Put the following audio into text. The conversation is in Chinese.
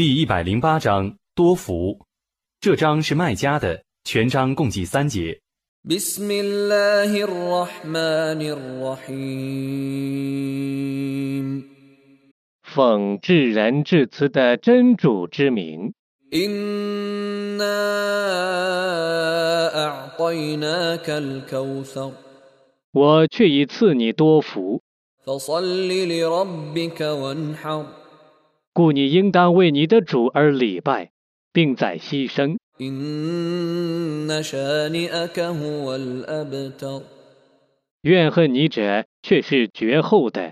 第108章多福。这章是麦加的，全章共计3节。 بسم الله الرحمن الرحيم 奉至仁至慈的真主之名。 إنا أعطيناك الكوثر 我却已赐你多福， فصل لربك وانحر 故你应当为你的主而礼拜，并在牺牲。 إن شانئك هو الأبتر 怨恨你者却是绝后的。